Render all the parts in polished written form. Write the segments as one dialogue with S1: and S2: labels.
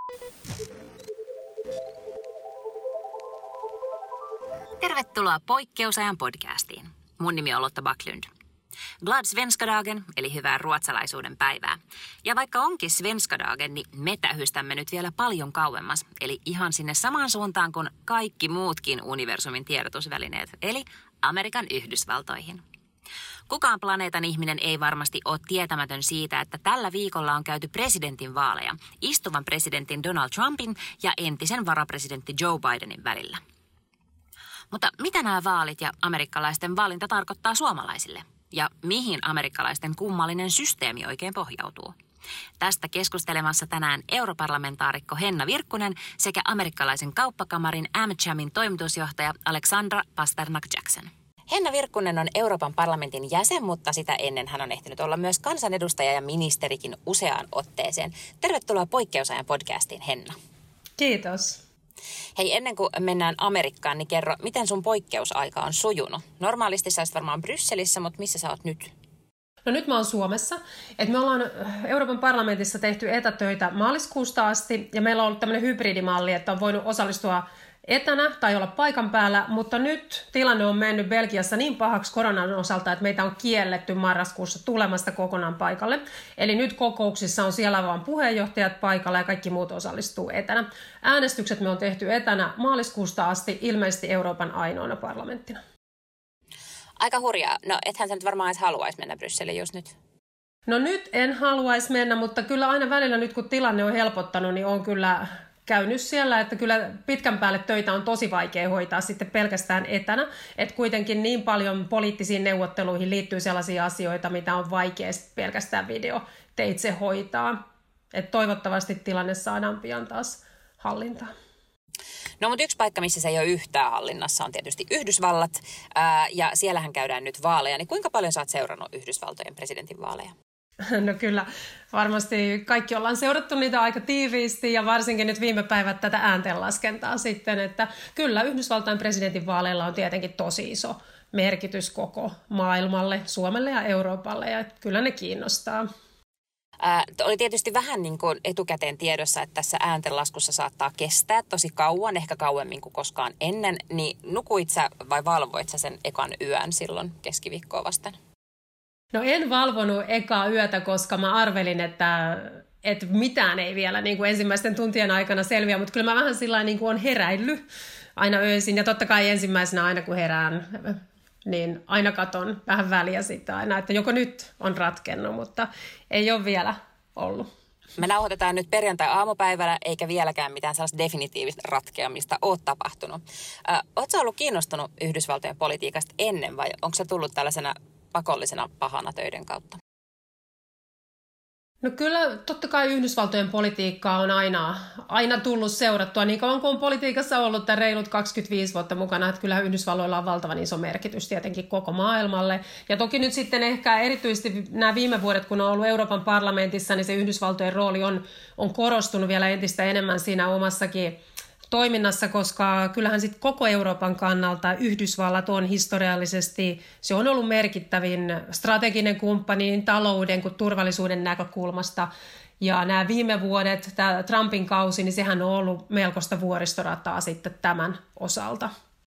S1: Tervetuloa Poikkeusajan podcastiin. Mun nimi on Lotta Backlund. Glad svenska dagen, eli hyvää ruotsalaisuuden päivää. Ja vaikka onkin svenska dagen, niin me tähystämme nyt vielä paljon kauemmas. Eli ihan sinne samaan suuntaan kuin kaikki muutkin universumin tiedotusvälineet, eli Amerikan Yhdysvaltoihin. Kukaan planeetan ihminen ei varmasti ole tietämätön siitä, että tällä viikolla on käyty presidentinvaaleja istuvan presidentin Donald Trumpin ja entisen varapresidentti Joe Bidenin välillä. Mutta mitä nämä vaalit ja amerikkalaisten valinta tarkoittaa suomalaisille? Ja mihin amerikkalaisten kummallinen systeemi oikein pohjautuu? Tästä keskustelemassa tänään europarlamentaarikko Henna Virkkunen sekä amerikkalaisen kauppakamarin AmChamin toimitusjohtaja Alexandra Pasternak-Jackson. Henna Virkkunen on Euroopan parlamentin jäsen, mutta sitä ennen hän on ehtinyt olla myös kansanedustaja ja ministerikin useaan otteeseen. Tervetuloa Poikkeusajan podcastiin, Henna.
S2: Kiitos.
S1: Hei, ennen kuin mennään Amerikkaan, niin kerro, miten sun poikkeusaika on sujunut? Normaalisti sä olisit varmaan Brysselissä, mutta missä sä oot nyt?
S2: No nyt mä oon Suomessa. Me ollaan Euroopan parlamentissa tehty etätöitä maaliskuusta asti, ja meillä on ollut tämmöinen hybridimalli, että on voinut osallistua etänä tai olla paikan päällä, mutta nyt tilanne on mennyt Belgiassa niin pahaksi koronan osalta, että meitä on kielletty marraskuussa tulemasta kokonaan paikalle. Eli nyt kokouksissa on siellä vaan puheenjohtajat paikalla ja kaikki muut osallistuu etänä. Äänestykset me on tehty etänä maaliskuusta asti, ilmeisesti Euroopan ainoana parlamenttina.
S1: Aika hurjaa. No ethän sä nyt varmaan edes haluaisi mennä Brysseliin just nyt.
S2: No nyt en haluaisi mennä, mutta kyllä aina välillä nyt kun tilanne on helpottanut, niin on kyllä käynyt siellä, että kyllä pitkän päälle töitä on tosi vaikea hoitaa sitten pelkästään etänä, että kuitenkin niin paljon poliittisiin neuvotteluihin liittyy sellaisia asioita, mitä on vaikea pelkästään videoteitse hoitaa, että toivottavasti tilanne saadaan pian taas hallintaan.
S1: No mutta yksi paikka, missä se ei ole yhtään hallinnassa, on tietysti Yhdysvallat, ja siellähän käydään nyt vaaleja, niin kuinka paljon sä oot seurannut Yhdysvaltojen presidentinvaaleja?
S2: No kyllä, varmasti kaikki ollaan seurattu niitä aika tiiviisti ja varsinkin nyt viime päivät tätä ääntenlaskentaa sitten, että kyllä Yhdysvaltain presidentinvaaleilla on tietenkin tosi iso merkitys koko maailmalle, Suomelle ja Euroopalle ja kyllä ne kiinnostaa.
S1: Oli tietysti vähän niin kuin etukäteen tiedossa, että tässä ääntenlaskussa saattaa kestää tosi kauan, ehkä kauemmin kuin koskaan ennen, niin nukuit sä vai valvoit sä sen ekan yön silloin keskiviikkoa vasten?
S2: No en valvonut ekaa yötä, koska mä arvelin, että mitään ei vielä niin kuin ensimmäisten tuntien aikana selviä, mutta kyllä mä vähän sillä niin kuin on heräillyt aina öisin. Ja totta kai ensimmäisenä aina kun herään, niin aina katon vähän väliä sitten aina, että joko nyt on ratkennut, mutta ei ole vielä ollut.
S1: Me nauhoitetaan nyt perjantai-aamupäivällä, eikä vieläkään mitään sellaista definitiivista ratkeamista ole tapahtunut. Ootko ollut kiinnostunut Yhdysvaltojen politiikasta ennen vai onko se tullut tällaisena pakollisena pahana töiden kautta?
S2: No kyllä totta kai Yhdysvaltojen politiikkaa on aina tullut seurattua niin kauan kuin on politiikassa ollut tämän reilut 25 vuotta mukana, että kyllähän Yhdysvalloilla on valtavan iso merkitys tietenkin koko maailmalle. Ja toki nyt sitten ehkä erityisesti nämä viime vuodet, kun on ollut Euroopan parlamentissa, niin se Yhdysvaltojen rooli on korostunut vielä entistä enemmän siinä omassakin toiminnassa, koska kyllähän sitten koko Euroopan kannalta Yhdysvallat on historiallisesti, se on ollut merkittävin strateginen kumppani niin talouden kuin turvallisuuden näkökulmasta. Ja nämä viime vuodet, tämä Trumpin kausi, niin sehän on ollut melkoista vuoristorataa sitten tämän osalta.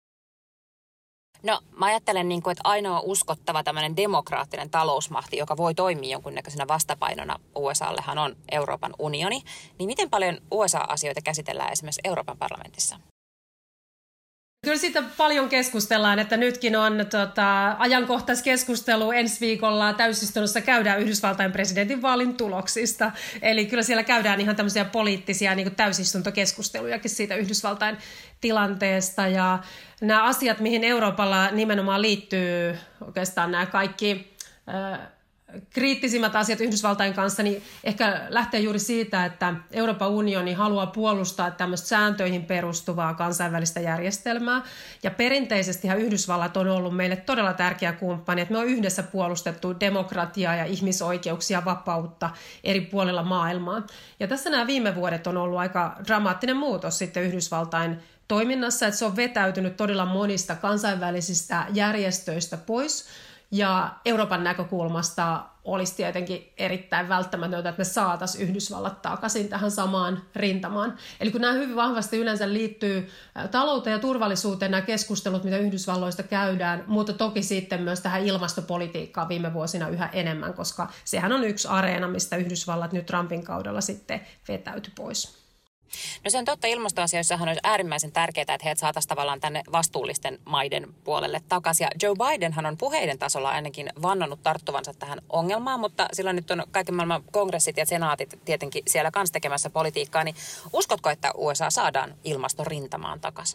S1: No mä ajattelen, että ainoa uskottava tämmöinen demokraattinen talousmahti, joka voi toimia jonkunnäköisenä vastapainona USAllehan on Euroopan unioni. Niin miten paljon USA-asioita käsitellään esimerkiksi Euroopan parlamentissa?
S2: Kyllä siitä paljon keskustellaan, että nytkin on ajankohtaiskeskustelu ensi viikolla täysistunnossa käydään Yhdysvaltain presidentinvaalin tuloksista. Eli kyllä siellä käydään ihan tämmöisiä poliittisia niin kuin täysistuntokeskustelujakin siitä Yhdysvaltain tilanteesta. Ja nämä asiat, mihin Euroopalla nimenomaan liittyy oikeastaan nämä kaikki kriittisimmät asiat Yhdysvaltain kanssa, niin ehkä lähtee juuri siitä, että Euroopan unioni haluaa puolustaa tämmöistä sääntöihin perustuvaa kansainvälistä järjestelmää. Ja perinteisestihan Yhdysvallat on ollut meille todella tärkeä kumppani, että me on yhdessä puolustettu demokratiaa ja ihmisoikeuksia, vapautta eri puolilla maailmaa. Ja tässä nämä viime vuodet on ollut aika dramaattinen muutos sitten Yhdysvaltain toiminnassa, että se on vetäytynyt todella monista kansainvälisistä järjestöistä pois. Ja Euroopan näkökulmasta olisi tietenkin erittäin välttämätöntä, että me saataisiin Yhdysvallat takaisin tähän samaan rintamaan. Eli kun nämä hyvin vahvasti yleensä liittyy talouteen ja turvallisuuteen, nämä keskustelut, mitä Yhdysvalloista käydään, mutta toki sitten myös tähän ilmastopolitiikkaan viime vuosina yhä enemmän, koska sehän on yksi areena, mistä Yhdysvallat nyt Trumpin kaudella sitten vetäytyi pois.
S1: No se on totta, ilmastoasioissahan olisi äärimmäisen tärkeää, että heidät saataisiin tavallaan tänne vastuullisten maiden puolelle takaisin. Ja Joe Bidenhan on puheiden tasolla ainakin vannonut tarttuvansa tähän ongelmaan, mutta sillä nyt on kaiken maailman kongressit ja senaatit tietenkin siellä kanssa tekemässä politiikkaa. Niin uskotko, että USA saadaan ilmastorintamaan takaisin?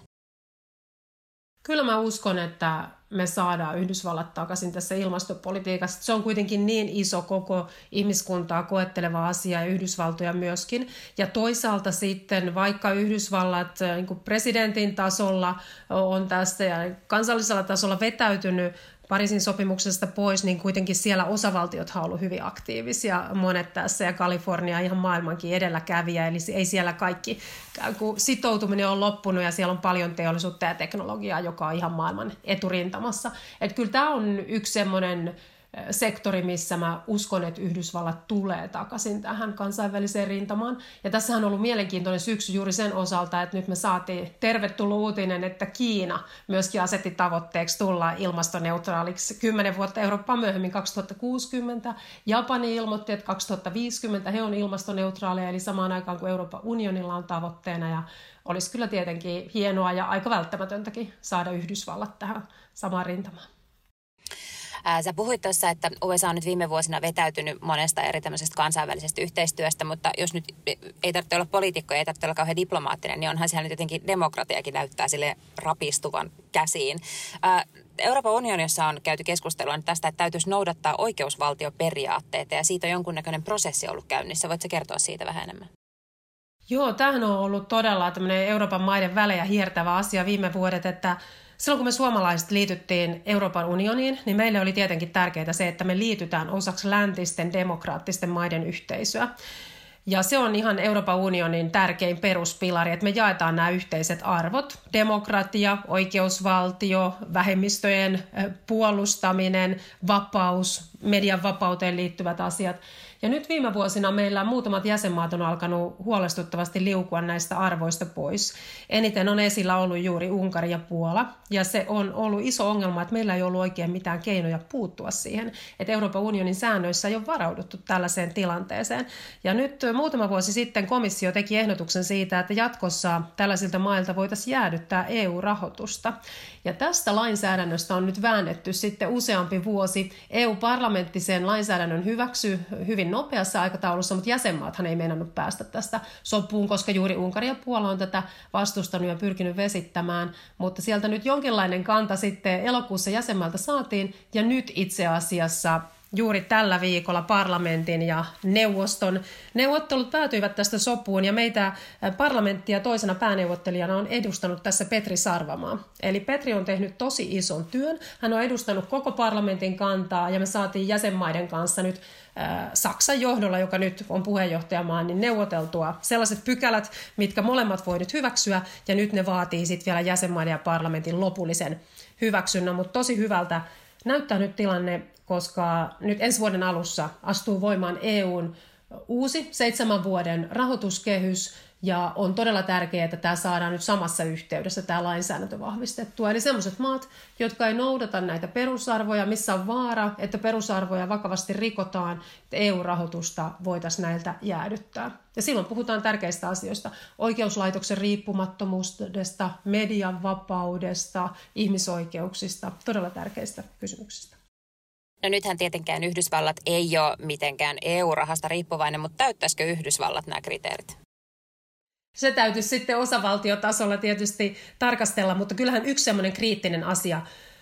S2: Kyllä mä uskon, että me saadaan Yhdysvallat takaisin tässä ilmastopolitiikassa. Se on kuitenkin niin iso koko ihmiskuntaa koetteleva asia ja Yhdysvaltoja myöskin. Ja toisaalta sitten vaikka Yhdysvallat niin kuin presidentin tasolla on tästä ja kansallisella tasolla vetäytynyt Pariisin sopimuksesta pois, niin kuitenkin siellä osavaltiothan on ollut hyvin aktiivisia, monet tässä, ja Kalifornia ihan maailmankin edelläkävijä, eli ei siellä kaikki sitoutuminen on loppunut, ja siellä on paljon teollisuutta ja teknologiaa, joka on ihan maailman eturintamassa. Että kyllä tämä on yksi semmoinen sektori, missä mä uskon, että Yhdysvallat tulee takaisin tähän kansainväliseen rintamaan. Ja tässähän on ollut mielenkiintoinen syksy juuri sen osalta, että nyt me saatiin tervetullut uutinen, että Kiina myöskin asetti tavoitteeksi tulla ilmastoneutraaliksi 10 vuotta Eurooppaa myöhemmin 2060. Japani ilmoitti, että 2050 he on ilmastoneutraaleja, eli samaan aikaan kuin Euroopan unionilla on tavoitteena. Ja olisi kyllä tietenkin hienoa ja aika välttämätöntäkin saada Yhdysvallat tähän samaan rintamaan.
S1: Sä puhuit tuossa, että USA on nyt viime vuosina vetäytynyt monesta eri tämmöisestä kansainvälisestä yhteistyöstä, mutta jos nyt ei tarvitse olla poliitikko, ei tarvitse olla kauhean diplomaattinen, niin onhan siellä nyt jotenkin demokratiakin näyttää sille rapistuvan käsiin. Euroopan unionissa on käyty keskustelua tästä, että täytyisi noudattaa oikeusvaltioperiaatteita ja siitä on jonkunnäköinen prosessi ollut käynnissä. Voitko kertoa siitä vähän enemmän?
S2: Joo, tämähän on ollut todella tämmöinen Euroopan maiden välejä hiertävä asia viime vuodet, että silloin kun me suomalaiset liityttiin Euroopan unioniin, niin meille oli tietenkin tärkeää se, että me liitytään osaksi läntisten demokraattisten maiden yhteisöä. Ja se on ihan Euroopan unionin tärkein peruspilari, että me jaetaan nämä yhteiset arvot, demokratia, oikeusvaltio, vähemmistöjen puolustaminen, vapaus, median vapauteen liittyvät asiat. Ja nyt viime vuosina meillä muutamat jäsenmaat on alkanut huolestuttavasti liukua näistä arvoista pois. Eniten on esillä ollut juuri Unkari ja Puola, ja se on ollut iso ongelma, että meillä ei ollut oikein mitään keinoja puuttua siihen, että Euroopan unionin säännöissä ei ole varauduttu tällaiseen tilanteeseen. Ja nyt muutama vuosi sitten komissio teki ehdotuksen siitä, että jatkossa tällaisilta mailta voitaisiin jäädyttää EU-rahoitusta. Ja tästä lainsäädännöstä on nyt väännetty sitten useampi vuosi. EU-parlamentti sen lainsäädännön hyväksyi hyvin nopeassa aikataulussa, mutta jäsenmaathan ei meinannut päästä tästä sopuun, koska juuri Unkari ja Puola on tätä vastustanut ja pyrkinyt vesittämään. Mutta sieltä nyt jonkinlainen kanta sitten elokuussa jäsenmaalta saatiin, ja nyt itse asiassa juuri tällä viikolla parlamentin ja neuvoston neuvottelut päätyivät tästä sopuun, ja meitä parlamenttia toisena pääneuvottelijana on edustanut tässä Petri Sarvamaa. Eli Petri on tehnyt tosi ison työn. Hän on edustanut koko parlamentin kantaa, ja me saatiin jäsenmaiden kanssa nyt Saksan johdolla, joka nyt on puheenjohtajamaa, niin neuvoteltua sellaiset pykälät, mitkä molemmat voi nyt hyväksyä, ja nyt ne vaatii sitten vielä jäsenmaiden ja parlamentin lopullisen hyväksynnän, mutta tosi hyvältä näyttää nyt tilanne, koska nyt ensi vuoden alussa astuu voimaan EUn uusi 7 vuoden rahoituskehys, ja on todella tärkeää, että tämä saadaan nyt samassa yhteydessä tämä lainsäädäntö vahvistettua. Eli sellaiset maat, jotka ei noudata näitä perusarvoja, missä on vaara, että perusarvoja vakavasti rikotaan, että EU-rahoitusta voitaisiin näiltä jäädyttää. Ja silloin puhutaan tärkeistä asioista: oikeuslaitoksen riippumattomuudesta, median vapaudesta, ihmisoikeuksista, todella tärkeistä kysymyksistä.
S1: No nythän tietenkään Yhdysvallat ei ole mitenkään EU-rahasta riippuvainen, mutta täyttäisikö Yhdysvallat nämä kriteerit?
S2: Se täytyisi sitten osavaltiotasolla tietysti tarkastella, mutta kyllähän yksi semmoinen kriittinen asia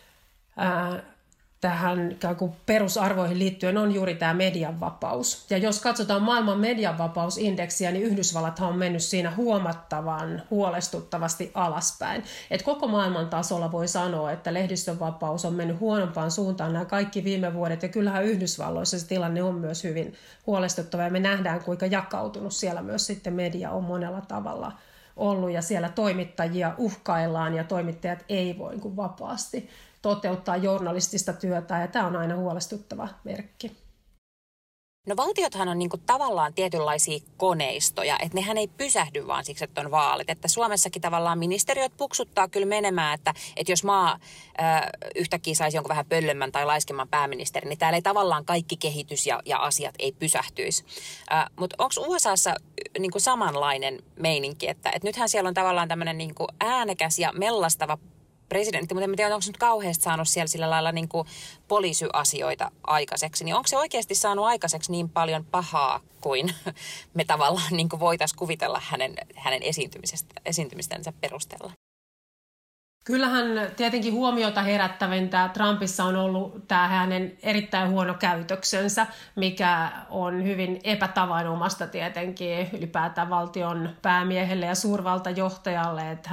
S2: tähän perusarvoihin liittyen on juuri tämä median vapaus. Ja jos katsotaan maailman median vapausindeksiä, niin Yhdysvallathan on mennyt siinä huomattavan huolestuttavasti alaspäin. Et koko maailman tasolla voi sanoa, että lehdistön vapaus on mennyt huonompaan suuntaan nämä kaikki viime vuodet. Ja kyllähän Yhdysvalloissa se tilanne on myös hyvin huolestuttava. Ja me nähdään, kuinka jakautunut siellä myös sitten media on monella tavalla ollut. Ja siellä toimittajia uhkaillaan ja toimittajat ei voi vapaasti toteuttaa journalistista työtä, ja tämä on aina huolestuttava merkki.
S1: No valtiothan on niinku tavallaan tietynlaisia koneistoja, että nehän ei pysähdy vaan siksi, että on vaalit. Että Suomessakin tavallaan ministeriöt puksuttaa kyllä menemään, että jos maa yhtäkkiä saisi jonkun vähän pöllömmän tai laiskemman pääministerin, niin täällä ei tavallaan kaikki kehitys ja asiat ei pysähtyisi. Mutta onko USAssa niinku samanlainen meininki, että nythän siellä on tavallaan tämmöinen niinku äänekäs ja mellastava presidentti, mutta en tiedä, onko se nyt kauheasti saanut siellä sillä lailla niin kuin poliisyasioita aikaiseksi, niin onko se oikeasti saanut aikaiseksi niin paljon pahaa kuin me tavallaan niin kuin voitaisiin kuvitella hänen esiintymistänsä perusteella?
S2: Kyllähän tietenkin huomiota herättävintä Trumpissa on ollut tämä hänen erittäin huono käytöksensä, mikä on hyvin epätavanomaista tietenkin ylipäätään valtion päämiehelle ja suurvaltajohtajalle, että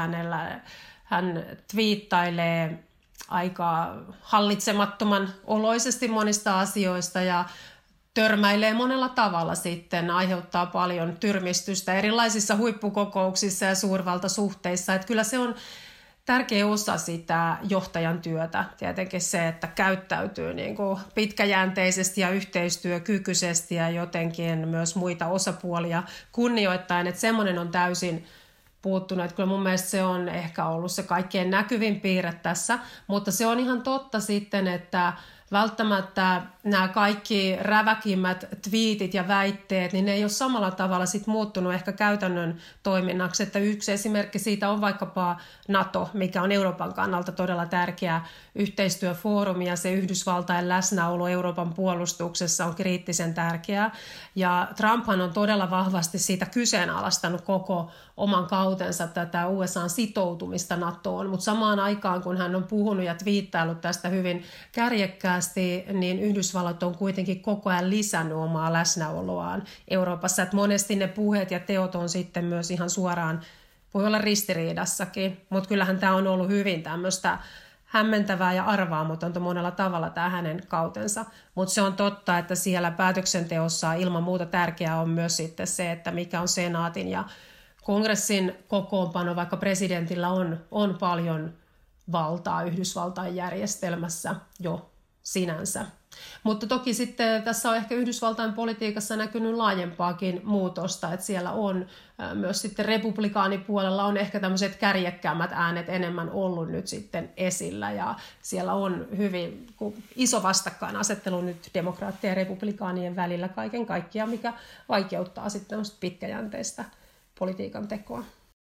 S2: hän twiittailee aika hallitsemattoman oloisesti monista asioista ja törmäilee monella tavalla sitten, aiheuttaa paljon tyrmistystä erilaisissa huippukokouksissa ja suurvaltasuhteissa. Että kyllä se on tärkeä osa sitä johtajan työtä, tietenkin se, että käyttäytyy niin kuin pitkäjänteisesti ja yhteistyökykyisesti ja jotenkin myös muita osapuolia kunnioittaen, että semmoinen on täysin puuttunut. Että kyllä mun mielestä se on ehkä ollut se kaikkein näkyvin piirre tässä, mutta se on ihan totta sitten, että välttämättä nämä kaikki räväkimmät twiitit ja väitteet, niin ne ei ole samalla tavalla sit muuttunut ehkä käytännön toiminnaksi. Että yksi esimerkki siitä on vaikkapa NATO, mikä on Euroopan kannalta todella tärkeä yhteistyöfoorumi ja se Yhdysvaltain läsnäolo Euroopan puolustuksessa on kriittisen tärkeää. Ja Trumphan on todella vahvasti siitä kyseenalaistanut koko oman kautensa tätä USA:n sitoutumista NATOon, mutta samaan aikaan kun hän on puhunut ja twiittaillut tästä hyvin kärjekkäästi, niin Yhdysvallat on kuitenkin koko ajan lisännyt omaa läsnäoloaan Euroopassa. Että monesti ne puheet ja teot on sitten myös ihan suoraan, voi olla ristiriidassakin, mutta kyllähän tämä on ollut hyvin tämmöistä hämmentävää ja arvaamatonta monella tavalla tämä hänen kautensa. Mutta se on totta, että siellä päätöksenteossa ilman muuta tärkeää on myös sitten se, että mikä on senaatin ja kongressin kokoonpano, vaikka presidentillä on paljon valtaa Yhdysvaltain järjestelmässä jo sinänsä. Mutta toki sitten tässä on ehkä Yhdysvaltain politiikassa näkynyt laajempaakin muutosta, että siellä on myös sitten republikaanipuolella on ehkä tämmöiset kärjekkäämmät äänet enemmän ollut nyt sitten esillä ja siellä on hyvin iso vastakkainasettelu nyt demokraattien ja republikaanien välillä kaiken kaikkiaan, mikä vaikeuttaa sitten pitkäjänteistä politiikan tekoa.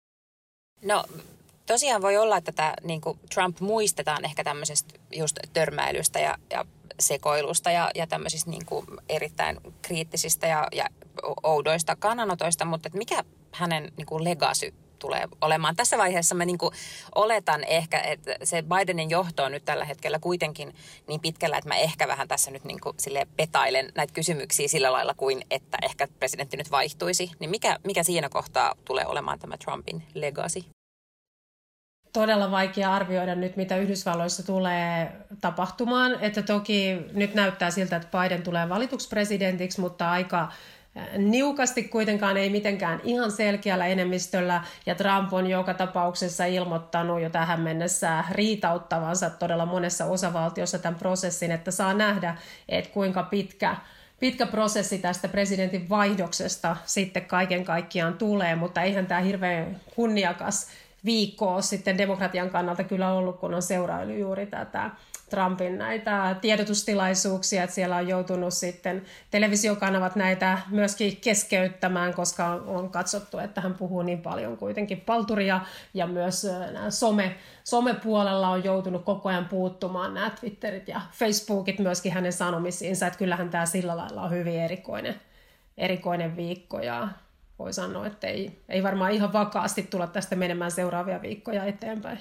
S1: No tosiaan voi olla, että tämä, niin kuin Trump muistetaan ehkä tämmöisestä just törmäilystä ja sekoilusta ja tämmöisistä niin kuin erittäin kriittisistä ja oudoista kannanotoista, mutta että mikä hänen niin kuin legacy tulee olemaan? Tässä vaiheessa mä niin kuin oletan ehkä, että se Bidenin johto on nyt tällä hetkellä kuitenkin niin pitkällä, että mä ehkä vähän tässä nyt niin kuin silleen petailen näitä kysymyksiä sillä lailla kuin, että ehkä presidentti nyt vaihtuisi. Niin mikä siinä kohtaa tulee olemaan tämä Trumpin legacy?
S2: Todella vaikea arvioida nyt, mitä Yhdysvalloissa tulee tapahtumaan. Että toki nyt näyttää siltä, että Biden tulee valituksi presidentiksi, mutta aika niukasti kuitenkaan ei mitenkään ihan selkeällä enemmistöllä. Ja Trump on joka tapauksessa ilmoittanut jo tähän mennessä riitauttavansa todella monessa osavaltiossa tämän prosessin, että saa nähdä, että kuinka pitkä prosessi tästä presidentin vaihdoksesta sitten kaiken kaikkiaan tulee, mutta eihän tämä hirveän kunniakas viikkoa sitten demokratian kannalta kyllä ollut, kun on seuraillut juuri tätä Trumpin näitä tiedotustilaisuuksia, että siellä on joutunut sitten televisiokanavat näitä myöskin keskeyttämään, koska on katsottu, että hän puhuu niin paljon kuitenkin palturia ja myös somepuolella on joutunut koko ajan puuttumaan nämä Twitterit ja Facebookit myöskin hänen sanomisiinsa, että kyllähän tämä sillä lailla on hyvin erikoinen viikko ja voi sanoa, että ei varmaan ihan vakaasti tulla tästä menemään seuraavia viikkoja eteenpäin.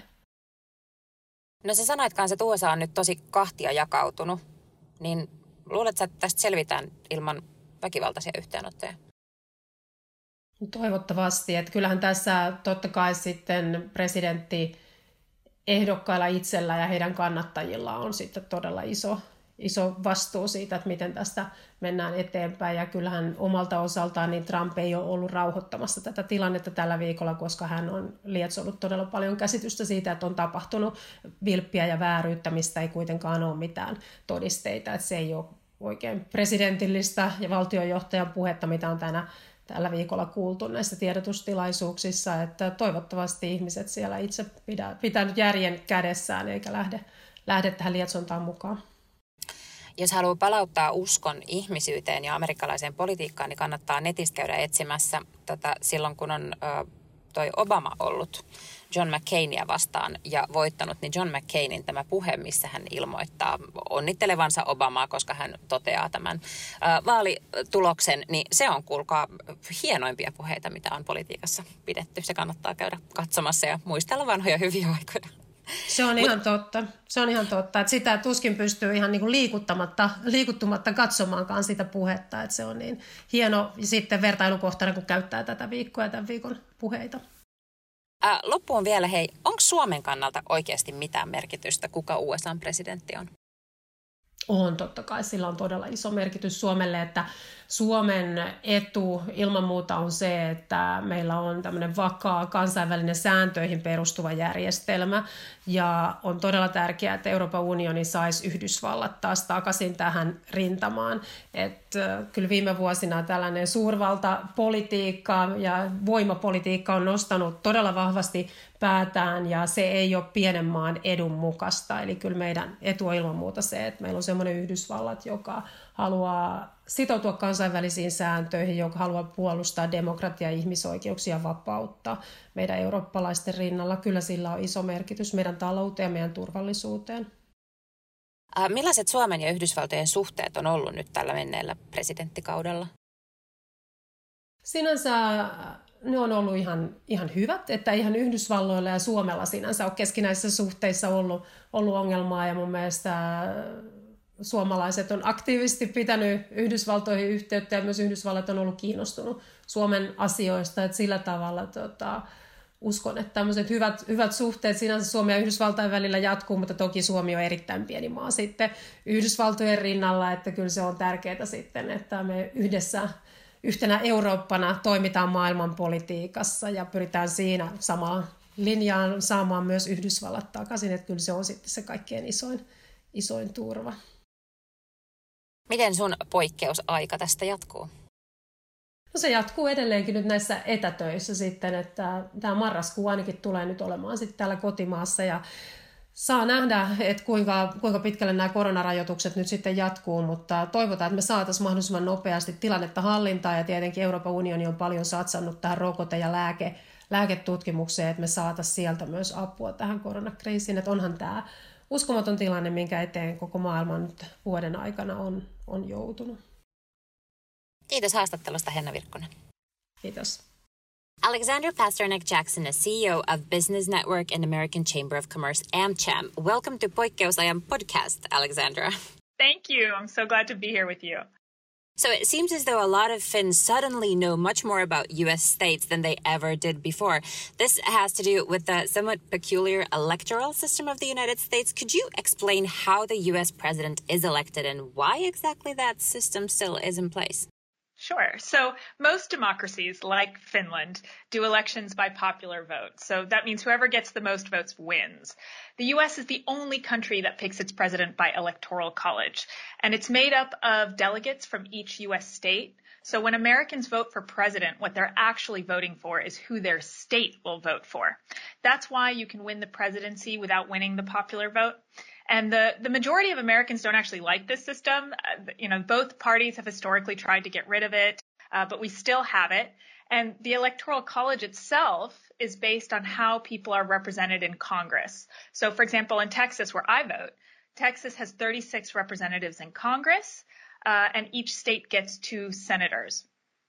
S1: No sä sanoit kanssa, että USA on nyt tosi kahtia jakautunut, niin luuletko, että tästä selvitään ilman väkivaltaisia yhteenottoja?
S2: Toivottavasti, että kyllähän tässä totta kai sitten presidentti ehdokkailla itsellä ja heidän kannattajilla on sitten todella iso vastuu siitä, että miten tästä mennään eteenpäin. Ja kyllähän omalta osaltaan niin Trump ei ole ollut rauhoittamassa tätä tilannetta tällä viikolla, koska hän on lietsonut todella paljon käsitystä siitä, että on tapahtunut vilppiä ja vääryyttä, mistä ei kuitenkaan ole mitään todisteita. Että se ei ole oikein presidentillistä ja valtionjohtajan puhetta, mitä on tällä viikolla kuultu näissä tiedotustilaisuuksissa, että toivottavasti ihmiset siellä itse pitää nyt järjen kädessään eikä lähde tähän lietsontaan mukaan.
S1: Jos haluaa palauttaa uskon ihmisyyteen ja amerikkalaiseen politiikkaan, niin kannattaa netistä käydä etsimässä silloin, kun on toi Obama ollut John McCainia vastaan ja voittanut, niin John McCainin tämä puhe, missä hän ilmoittaa onnittelevansa Obamaa, koska hän toteaa tämän vaalituloksen, niin se on, kuulkaa, hienoimpia puheita, mitä on politiikassa pidetty. Se kannattaa käydä katsomassa ja muistella vanhoja hyviä aikoja.
S2: Se on ihan totta. Se on ihan totta, että sitä tuskin pystyy ihan niin kuin liikuttumatta katsomaankaan sitä puhetta, että se on niin hieno sitten vertailukohtana, kun käyttää tätä viikkoa ja tämän viikon puheita.
S1: Loppuun vielä, hei, onko Suomen kannalta oikeasti mitään merkitystä, kuka USA:n presidentti on?
S2: On totta kai, sillä on todella iso merkitys Suomelle, että Suomen etu ilman muuta on se, että meillä on tämmöinen vakaa kansainvälinen sääntöihin perustuva järjestelmä ja on todella tärkeää, että Euroopan unioni saisi Yhdysvallat taas takaisin tähän rintamaan. Että kyllä viime vuosina tällainen suurvaltapolitiikka ja voimapolitiikka on nostanut todella vahvasti päätään ja se ei ole pienen maan edun mukaista. Eli kyllä meidän etu on ilman muuta se, että meillä on semmoinen Yhdysvallat, joka haluaa sitoutua kansainvälisiin sääntöihin, joka haluaa puolustaa demokratiaa, ihmisoikeuksia ja vapautta meidän eurooppalaisten rinnalla. Kyllä sillä on iso merkitys meidän talouteen ja meidän turvallisuuteen.
S1: Millaiset Suomen ja Yhdysvaltojen suhteet on ollut nyt tällä menneellä presidenttikaudella?
S2: Sinänsä ne on ollut ihan hyvät, että ihan Yhdysvalloilla ja Suomella sinänsä on keskinäisissä suhteissa ollut ongelmaa ja mun mielestä suomalaiset on aktiivisesti pitänyt Yhdysvaltoihin yhteyttä ja myös Yhdysvallat on ollut kiinnostunut Suomen asioista, että sillä tavalla uskon, että tämmöiset hyvät suhteet sinänsä Suomen ja Yhdysvaltain välillä jatkuu, mutta toki Suomi on erittäin pieni maa sitten Yhdysvaltojen rinnalla, että kyllä se on tärkeää sitten, että me yhdessä yhtenä Eurooppana toimitaan maailmanpolitiikassa ja pyritään siinä samaan linjaan saamaan myös Yhdysvallat takaisin, että kyllä se on sitten se kaikkein isoin turva.
S1: Miten sun poikkeusaika tästä jatkuu?
S2: No se jatkuu edelleenkin nyt näissä etätöissä sitten, että tämä marraskuu ainakin tulee nyt olemaan sitten täällä kotimaassa ja saa nähdä, että kuinka pitkälle nämä koronarajoitukset nyt sitten jatkuu, mutta toivotaan, että me saataisiin mahdollisimman nopeasti tilannetta hallintaan ja tietenkin Euroopan unioni on paljon satsannut tähän rokote- ja lääketutkimukseen, että me saataisiin sieltä myös apua tähän koronakriisiin, että onhan tämä uskomaton tilanne, minkä eteen koko maailma nyt vuoden aikana on joutunut.
S1: Kiitos haastattelusta, Henna Virkkunen.
S2: Kiitos.
S1: Alexandra Pasternak-Jackson is CEO of Business Network and American Chamber of Commerce, AmCham. Welcome to Poikkeusajan podcast, Alexandra.
S3: Thank you. I'm so glad to be here with you.
S1: So it seems as though a lot of Finns suddenly know much more about U.S. states than they ever did before. This has to do with the somewhat peculiar electoral system of the United States. Could you explain how the U.S. president is elected and why exactly that system still is in place?
S3: Sure. So most democracies, like Finland, do elections by popular vote. So that means whoever gets the most votes wins. The U.S. is the only country that picks its president by electoral college, and it's made up of delegates from each U.S. state. So when Americans vote for president, what they're actually voting for is who their state will vote for. That's why you can win the presidency without winning the popular vote. And the majority of Americans don't actually like this system. Both parties have historically tried to get rid of it, but we still have it. And the Electoral College itself is based on how people are represented in Congress. So, for example, in Texas, where I vote, Texas has 36 representatives in Congress, and each state gets 2 senators.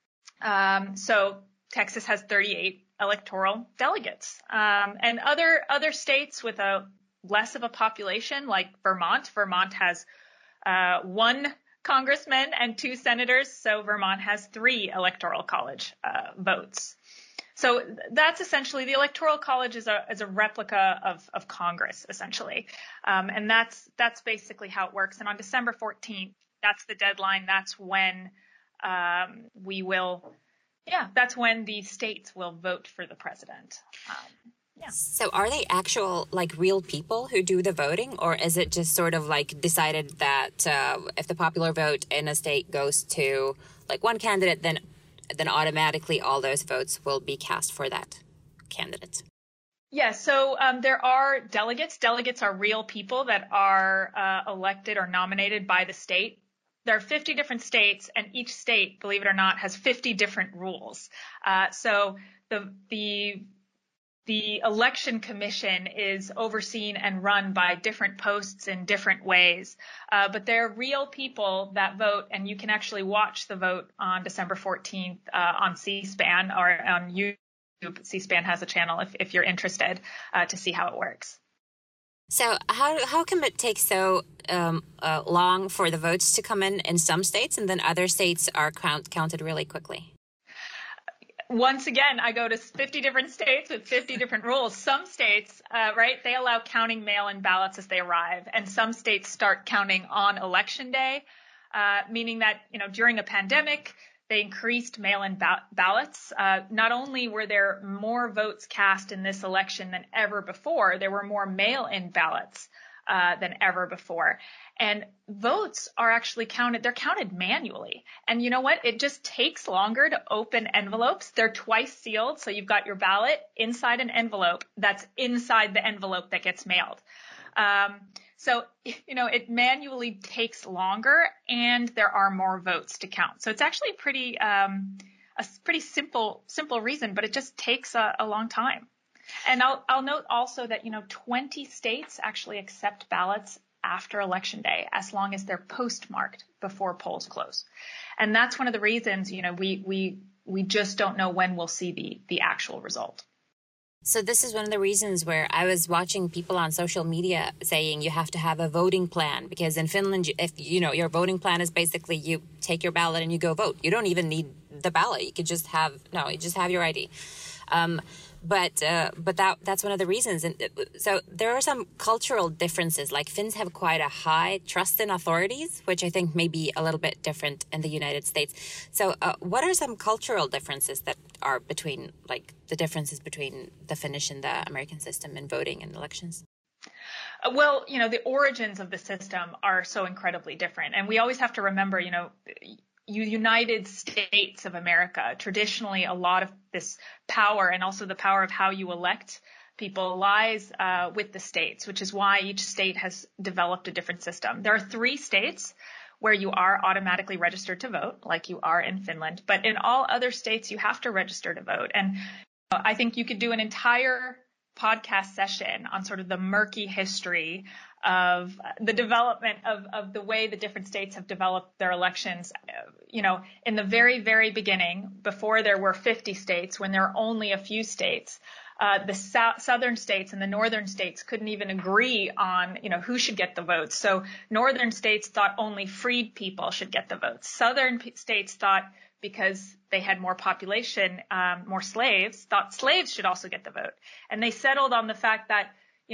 S3: So Texas has 38 electoral delegates. And other states with less of a population, like Vermont has 1 congressman and 2 senators, so Vermont has 3 electoral college votes. So that's essentially, the electoral college is a replica of Congress, essentially, and that's basically how it works. And on December 14th, that's the deadline. That's when that's when the states will vote for the president.
S1: So are they actual, real people who do the voting, or is it just sort of decided that if the popular vote in a state goes to one candidate, then automatically all those votes will be cast for that candidate?
S3: Yeah, so there are delegates. Delegates are real people that are elected or nominated by the state. There are 50 different states, and each state, believe it or not, has 50 different rules. So the election commission is overseen and run by different posts in different ways. But they're real people that vote, and you can actually watch the vote on December 14th on C-SPAN or on YouTube. C-SPAN has a channel if you're interested to see how it works.
S1: So how come it takes so long for the votes to come in some states, and then other states are counted really quickly?
S3: Once again, I go to 50 different states with 50 different rules. Some states, they allow counting mail-in ballots as they arrive, and some states start counting on election day, meaning that, during a pandemic, they increased mail-in ballots. Not only were there more votes cast in this election than ever before, there were more mail-in ballots than ever before. And votes are actually counted. They're counted manually. And you know what? It just takes longer to open envelopes. They're twice sealed. So you've got your ballot inside an envelope that's inside the envelope that gets mailed. So, it manually takes longer, and there are more votes to count. So it's actually a pretty simple reason, but it just takes a long time. And I'll note also that, 20 states actually accept ballots after Election Day, as long as they're postmarked before polls close. And that's one of the reasons, we just don't know when we'll see the actual result.
S1: So this is one of the reasons where I was watching people on social media saying you have to have a voting plan, because in Finland, if your voting plan is basically you take your ballot and you go vote. You don't even need the ballot. You could just have your ID. But that's one of the reasons. And so there are some cultural differences. Finns have quite a high trust in authorities, which I think may be a little bit different in the United States. So what are some cultural differences that are between, the differences between the Finnish and the American system in voting and elections?
S3: Well, the origins of the system are so incredibly different. And we always have to remember, United States of America, traditionally a lot of this power and also the power of how you elect people lies with the states, which is why each state has developed a different system. There are 3 states where you are automatically registered to vote, like you are in Finland. But in all other states, you have to register to vote. And I think you could do an entire podcast session on sort of the murky history of the development of the way the different states have developed their elections. In the very, very beginning, before there were 50 states, when there were only a few states, the southern states and the northern states couldn't even agree on, who should get the votes. So northern states thought only freed people should get the votes. Southern states thought, because they had more population, more slaves, thought slaves should also get the vote. And they settled on the fact that,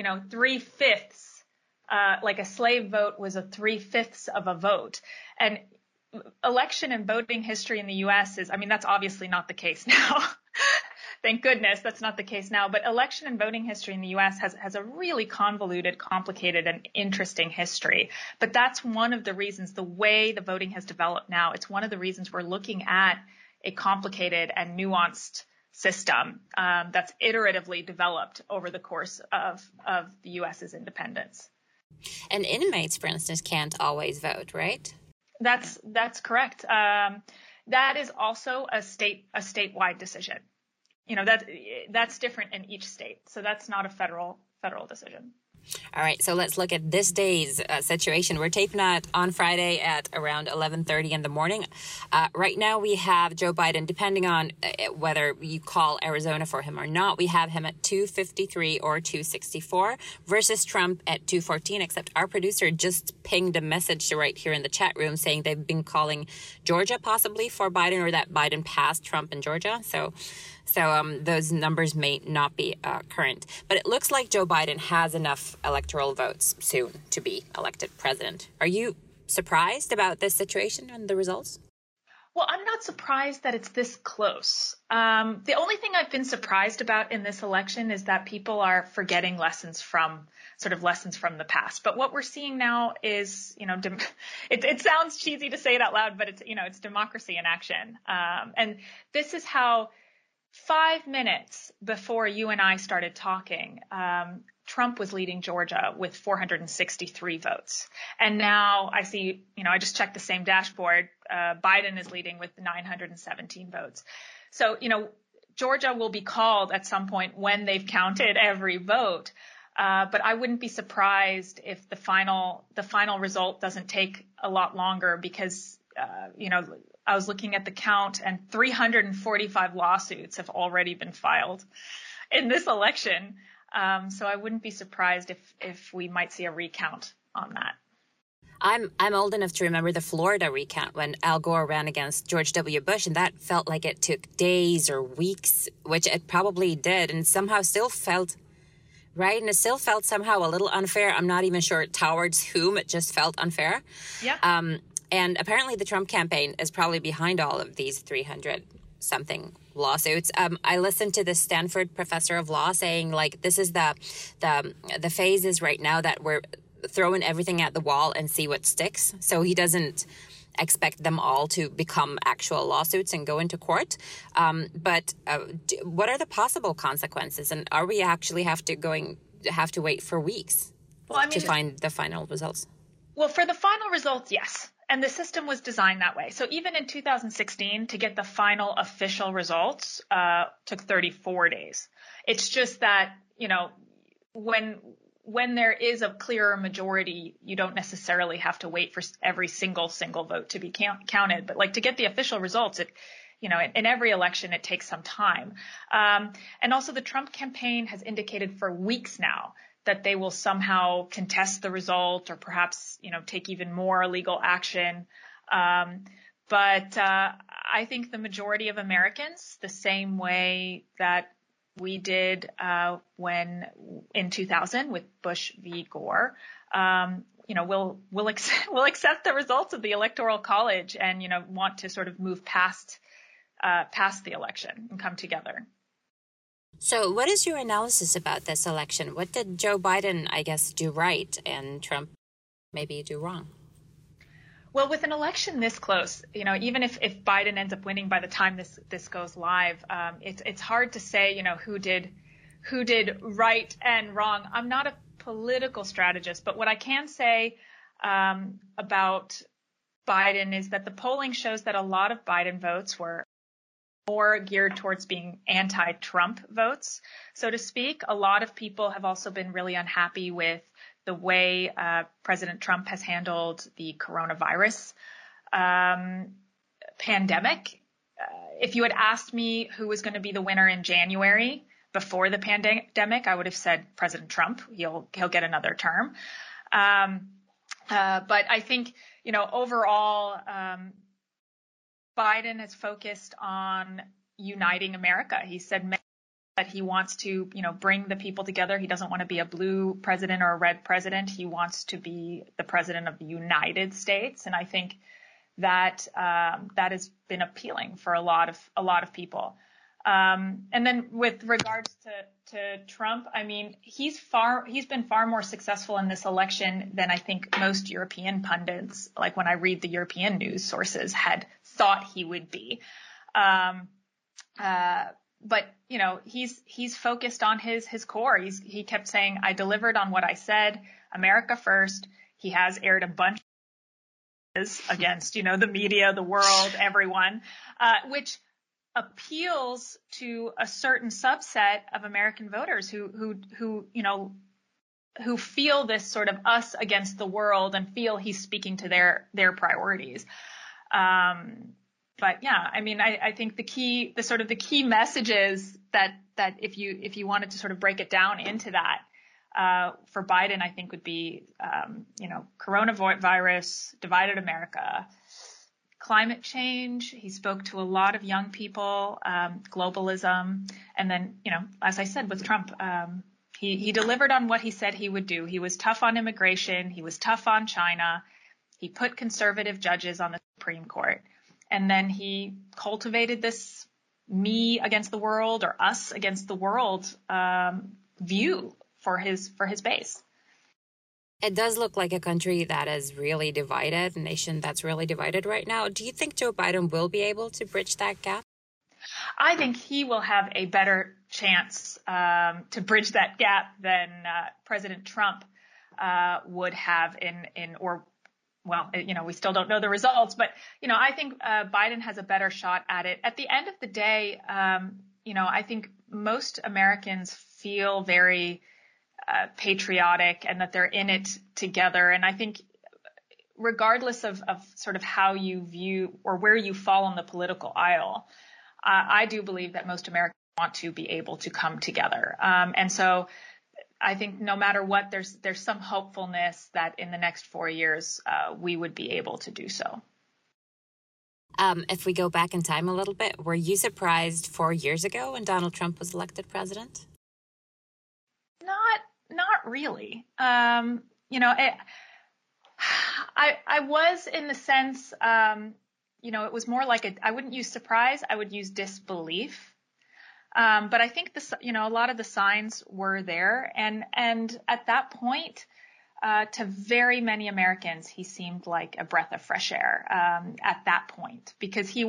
S3: 3/5, a slave vote was a 3/5 of a vote. And election and voting history in the U.S. that's obviously not the case now. Thank goodness that's not the case now. But election and voting history in the U.S. has a really convoluted, complicated, and interesting history. But that's one of the reasons, the way the voting has developed now, it's one of the reasons we're looking at a complicated and nuanced system that's iteratively developed over the course of the U.S.'s independence.
S1: And inmates, for instance, can't always vote, right?
S3: That's correct. That is also a statewide decision. That's different in each state. So that's not a federal decision.
S1: All right, so let's look at this day's situation. We're taping that on Friday at around 11:30 in the morning. Right now we have Joe Biden, depending on whether you call Arizona for him or not, we have him at 253 or 264 versus Trump at 214, except our producer just pinged a message right here in the chat room saying they've been calling Georgia possibly for Biden, or that Biden passed Trump in Georgia. So those numbers may not be current. But it looks like Joe Biden has enough electoral votes soon to be elected president. Are you surprised about this situation and the results?
S3: Well, I'm not surprised that it's this close. The only thing I've been surprised about in this election is that people are forgetting lessons from the past. But what we're seeing now is, it sounds cheesy to say it out loud, but it's democracy in action. And this is how 5 minutes before you and I started talking, Trump was leading Georgia with 463 votes. And now I see, I just checked the same dashboard. Biden is leading with 917 votes. So, Georgia will be called at some point when they've counted every vote. But I wouldn't be surprised if the final result doesn't take a lot longer because, I was looking at the count and 345 lawsuits have already been filed in this election. So I wouldn't be surprised if we might see a recount on that.
S1: I'm old enough to remember the Florida recount when Al Gore ran against George W. Bush, and that felt like it took days or weeks, which it probably did, and somehow still felt right, and it still felt somehow a little unfair. I'm not even sure towards whom, it just felt unfair.
S3: Yeah.
S1: And apparently the Trump campaign is probably behind all of these 300-something lawsuits. I listened to this Stanford professor of law saying, like, this is the phases right now that we're throwing everything at the wall and see what sticks. So he doesn't expect them all to become actual lawsuits and go into court. But what are the possible consequences? And are we actually have to wait for weeks to find the final results?
S3: Well, for the final results, yes. And the system was designed that way. So even in 2016, to get the final official results took 34 days. It's just that, when there is a clearer majority, you don't necessarily have to wait for every single vote to be counted. But like to get the official results, in every election, it takes some time. And also the Trump campaign has indicated for weeks now that they will somehow contest the result or perhaps, take even more legal action. But I think the majority of Americans, the same way that we did when in 2000 with Bush v. Gore, we'll accept the results of the Electoral College and, want to sort of move past the election and come together.
S1: So what is your analysis about this election? What did Joe Biden, I guess, do right and Trump maybe do wrong?
S3: Well, with an election this close, even if Biden ends up winning by the time this goes live, it's hard to say, who did right and wrong. I'm not a political strategist, but what I can say about Biden is that the polling shows that a lot of Biden votes were more geared towards being anti-Trump votes, so to speak. A lot of people have also been really unhappy with the way President Trump has handled the coronavirus pandemic. If you had asked me who was going to be the winner in January before the pandemic, I would have said President Trump. He'll get another term. But I think, overall, Biden has focused on uniting America. He said that he wants to, bring the people together. He doesn't want to be a blue president or a red president. He wants to be the president of the United States. And I think that that has been appealing for a lot of people. And then with regards to Trump, I mean, he's been far more successful in this election than I think most European pundits, like when I read the European news sources, had thought he would be. But he's focused on his core. He kept saying, I delivered on what I said, America first. He has aired a bunch of against, the media, the world, everyone, which appeals to a certain subset of American voters who feel this sort of us against the world and feel he's speaking to their priorities. But yeah, I mean, I think the key messages that if you wanted to sort of break it down into that, for Biden, I think would be, coronavirus, divided America, climate change. He spoke to a lot of young people, globalism. And then, as I said, with Trump, he delivered on what he said he would do. He was tough on immigration. He was tough on China. He put conservative judges on the Supreme Court. And then he cultivated this me against the world or us against the world view for his base.
S1: It does look like a country that is really divided, a nation that's really divided right now. Do you think Joe Biden will be able to bridge that gap?
S3: I think he will have a better chance to bridge that gap than President Trump would have we still don't know the results, but, I think Biden has a better shot at it. At the end of the day, I think most Americans feel very patriotic and that they're in it together. And I think regardless of sort of how you view or where you fall on the political aisle, I do believe that most Americans want to be able to come together. And so I think no matter what, there's some hopefulness that in the next 4 years, we would be able to do so.
S1: If we go back in time a little bit, were you surprised 4 years ago when Donald Trump was elected president?
S3: Not really. I was in the sense, it was more like I wouldn't use surprise, I would use disbelief. But I think a lot of the signs were there, and at that point, to very many Americans, he seemed like a breath of fresh air at that point, because he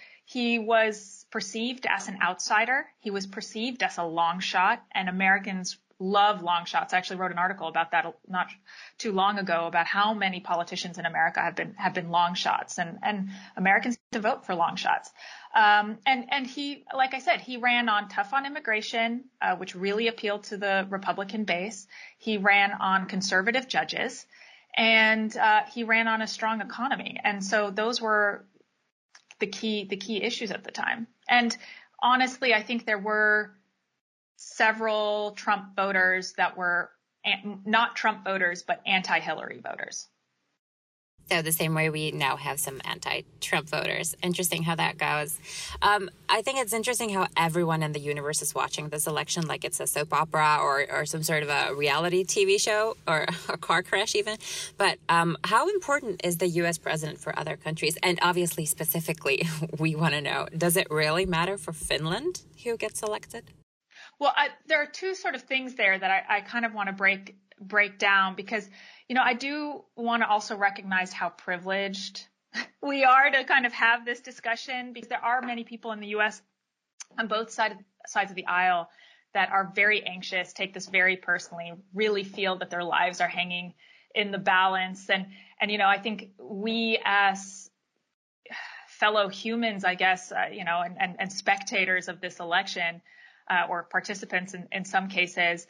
S3: was perceived as an outsider, he was perceived as a long shot, and Americans love long shots. I actually wrote an article about that not too long ago about how many politicians in America have been long shots, and Americans to vote for long shots. And he, like I said, he ran on tough on immigration, which really appealed to the Republican base. He ran on conservative judges, and he ran on a strong economy. And so those were the key issues at the time. And honestly, I think there were several Trump voters that were not Trump voters, but anti-Hillary voters.
S1: So the same way we now have some anti-Trump voters. Interesting how that goes. I think it's interesting how everyone in the universe is watching this election like it's a soap opera or some sort of a reality TV show or a car crash even. But how important is the U.S. president for other countries? And obviously, specifically, we want to know, does it really matter for Finland who gets elected?
S3: Well, there are two sort of things there that I kind of want to break down, because, I do want to also recognize how privileged we are to kind of have this discussion, because there are many people in the U.S. on both sides of the aisle that are very anxious, take this very personally, really feel that their lives are hanging in the balance. And I think we as fellow humans, I guess, and spectators of this election, or participants in some cases,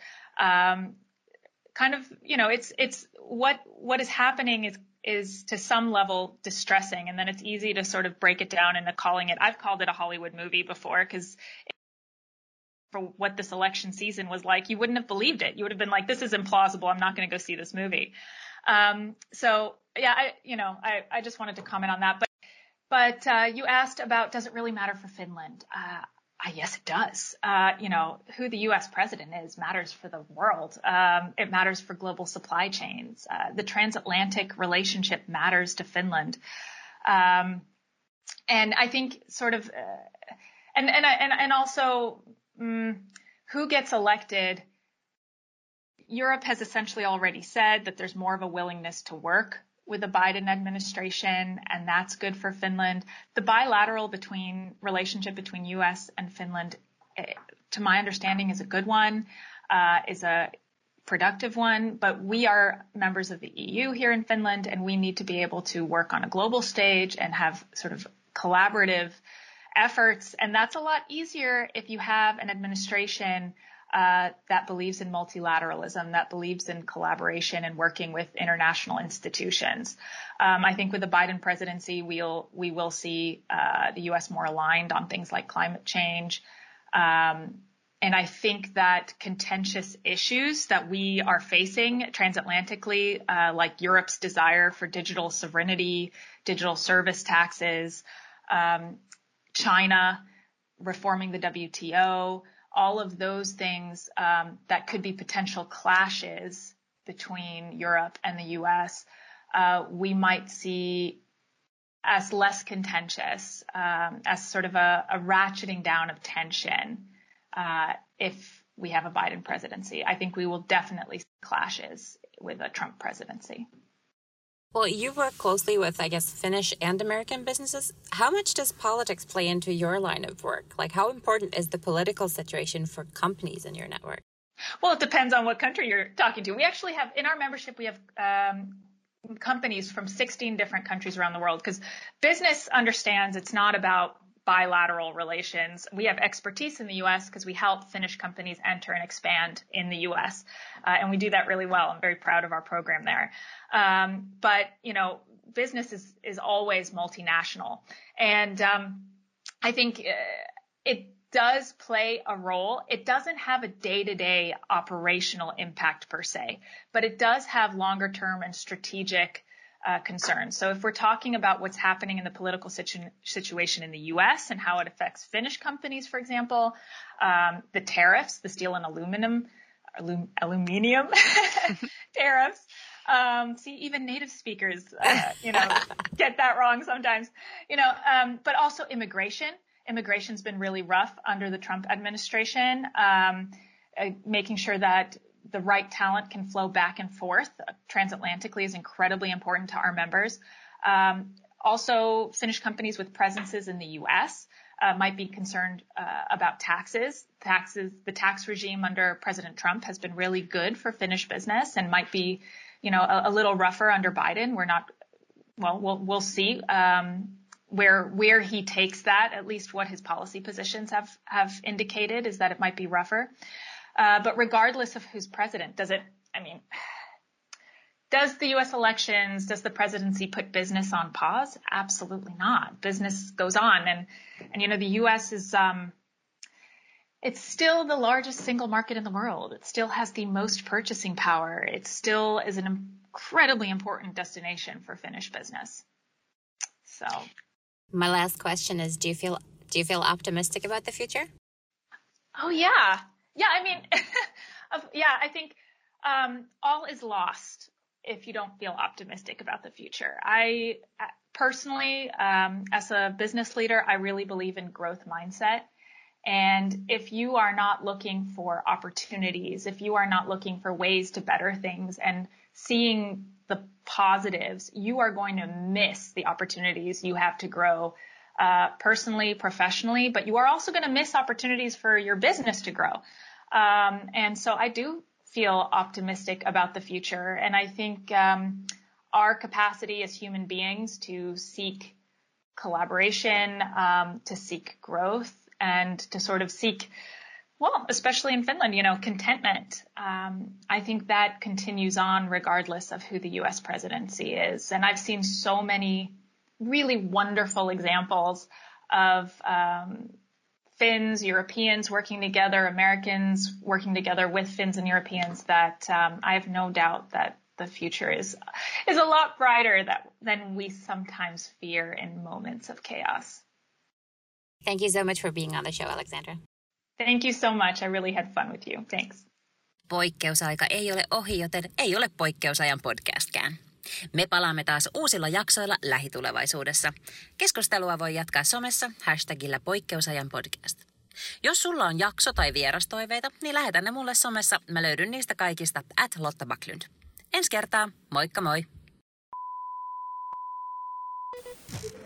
S3: kind of, it's what is happening is to some level distressing. And then it's easy to sort of break it down into I've called it a Hollywood movie before, because for what this election season was like, you wouldn't have believed it. You would have been like, this is implausible. I'm not going to go see this movie. So yeah, I just wanted to comment on that. But you asked about, does it really matter for Finland? Yes, it does. Who the U.S. president is matters for the world. It matters for global supply chains. The transatlantic relationship matters to Finland. And I think sort of, and also, who gets elected? Europe has essentially already said that there's more of a willingness to work with the Biden administration, and that's good for Finland. The bilateral relationship between U.S. and Finland, to my understanding, is a good one, is a productive one, but we are members of the EU here in Finland, and we need to be able to work on a global stage and have sort of collaborative efforts, and that's a lot easier if you have an administration that believes in multilateralism, that believes in collaboration and working with international institutions. I think with the Biden presidency, we will see the U.S. more aligned on things like climate change. And I think that contentious issues that we are facing transatlantically, like Europe's desire for digital sovereignty, digital service taxes, China reforming the WTO, all of those things that could be potential clashes between Europe and the U.S., we might see as less contentious, as sort of a ratcheting down of tension if we have a Biden presidency. I think we will definitely see clashes with a Trump presidency.
S1: Well, you work closely with, I guess, Finnish and American businesses. How much does politics play into your line of work? Like, how important is the political situation for companies in your network?
S3: Well, it depends on what country you're talking to. We actually have, in our membership, we have companies from 16 different countries around the world, because business understands it's not about bilateral relations. We have expertise in the U.S. because we help Finnish companies enter and expand in the U.S. And we do that really well. I'm very proud of our program there. But, you know, business is always multinational. And I think it does play a role. It doesn't have a day-to-day operational impact per se, but it does have longer term and strategic concerns. So if we're talking about what's happening in the political situation in the U.S. and how it affects Finnish companies, for example, the tariffs, the steel and aluminium tariffs. See, even native speakers, get that wrong sometimes, but also immigration. Immigration's been really rough under the Trump administration, making sure that the right talent can flow back and forth transatlantically is incredibly important to our members. Also, Finnish companies with presences in the U.S. Might be concerned about taxes. The tax regime under President Trump has been really good for Finnish business and might be, a little rougher under Biden. We'll see where he takes that. At least what his policy positions have indicated is that it might be rougher. But regardless of who's president, does the U.S. elections, does the presidency put business on pause? Absolutely not. Business goes on. And the U.S. is, it's still the largest single market in the world. It still has the most purchasing power. It still is an incredibly important destination for Finnish business. So.
S1: My last question is, do you feel optimistic about the future?
S3: Oh, yeah. Yeah, I think all is lost if you don't feel optimistic about the future. I personally, as a business leader, I really believe in growth mindset. And if you are not looking for opportunities, if you are not looking for ways to better things and seeing the positives, you are going to miss the opportunities you have to grow personally, professionally, but you are also going to miss opportunities for your business to grow. And so I do feel optimistic about the future. And I think our capacity as human beings to seek collaboration, to seek growth, and to sort of seek, well, especially in Finland, contentment. I think that continues on regardless of who the U.S. presidency is. And I've seen so many really wonderful examples of Finns, Europeans working together, Americans working together with Finns and Europeans that I have no doubt that the future is a lot brighter than we sometimes fear in moments of chaos.
S1: Thank you so much for being on the show, Alexandra.
S3: Thank you so much. I really had fun with you. Thanks.
S1: Poikkeusaika ei ole ohi, joten ei ole poikkeusajan podcastkään. Me palaamme taas uusilla jaksoilla lähitulevaisuudessa. Keskustelua voi jatkaa somessa hashtagillä poikkeusajan podcast. Jos sulla on jakso- tai vierastoiveita, niin lähetä ne mulle somessa. Mä löydyn niistä kaikista @Lotta Backlund. Ensi kertaa, moikka moi!